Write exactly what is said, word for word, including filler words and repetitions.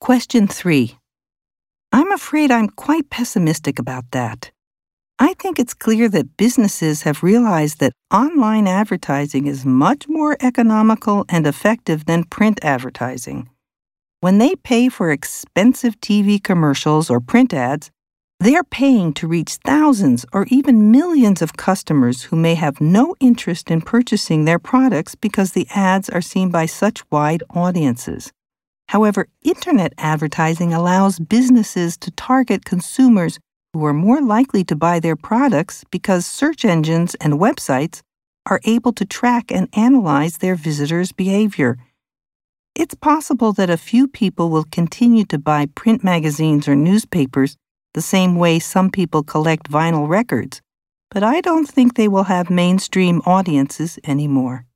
Question three. I'm afraid I'm quite pessimistic about that. I think it's clear that businesses have realized that online advertising is much more economical and effective than print advertising. When they pay for expensive T V commercials or print ads, they're paying to reach thousands or even millions of customers who may have no interest in purchasing their products because the ads are seen by such wide audiences. However, internet advertising allows businesses to target consumers who are more likely to buy their products because search engines and websites are able to track and analyze their visitors' behavior. It's possible that a few people will continue to buy print magazines or newspapers the same way some people collect vinyl records, but I don't think they will have mainstream audiences anymore.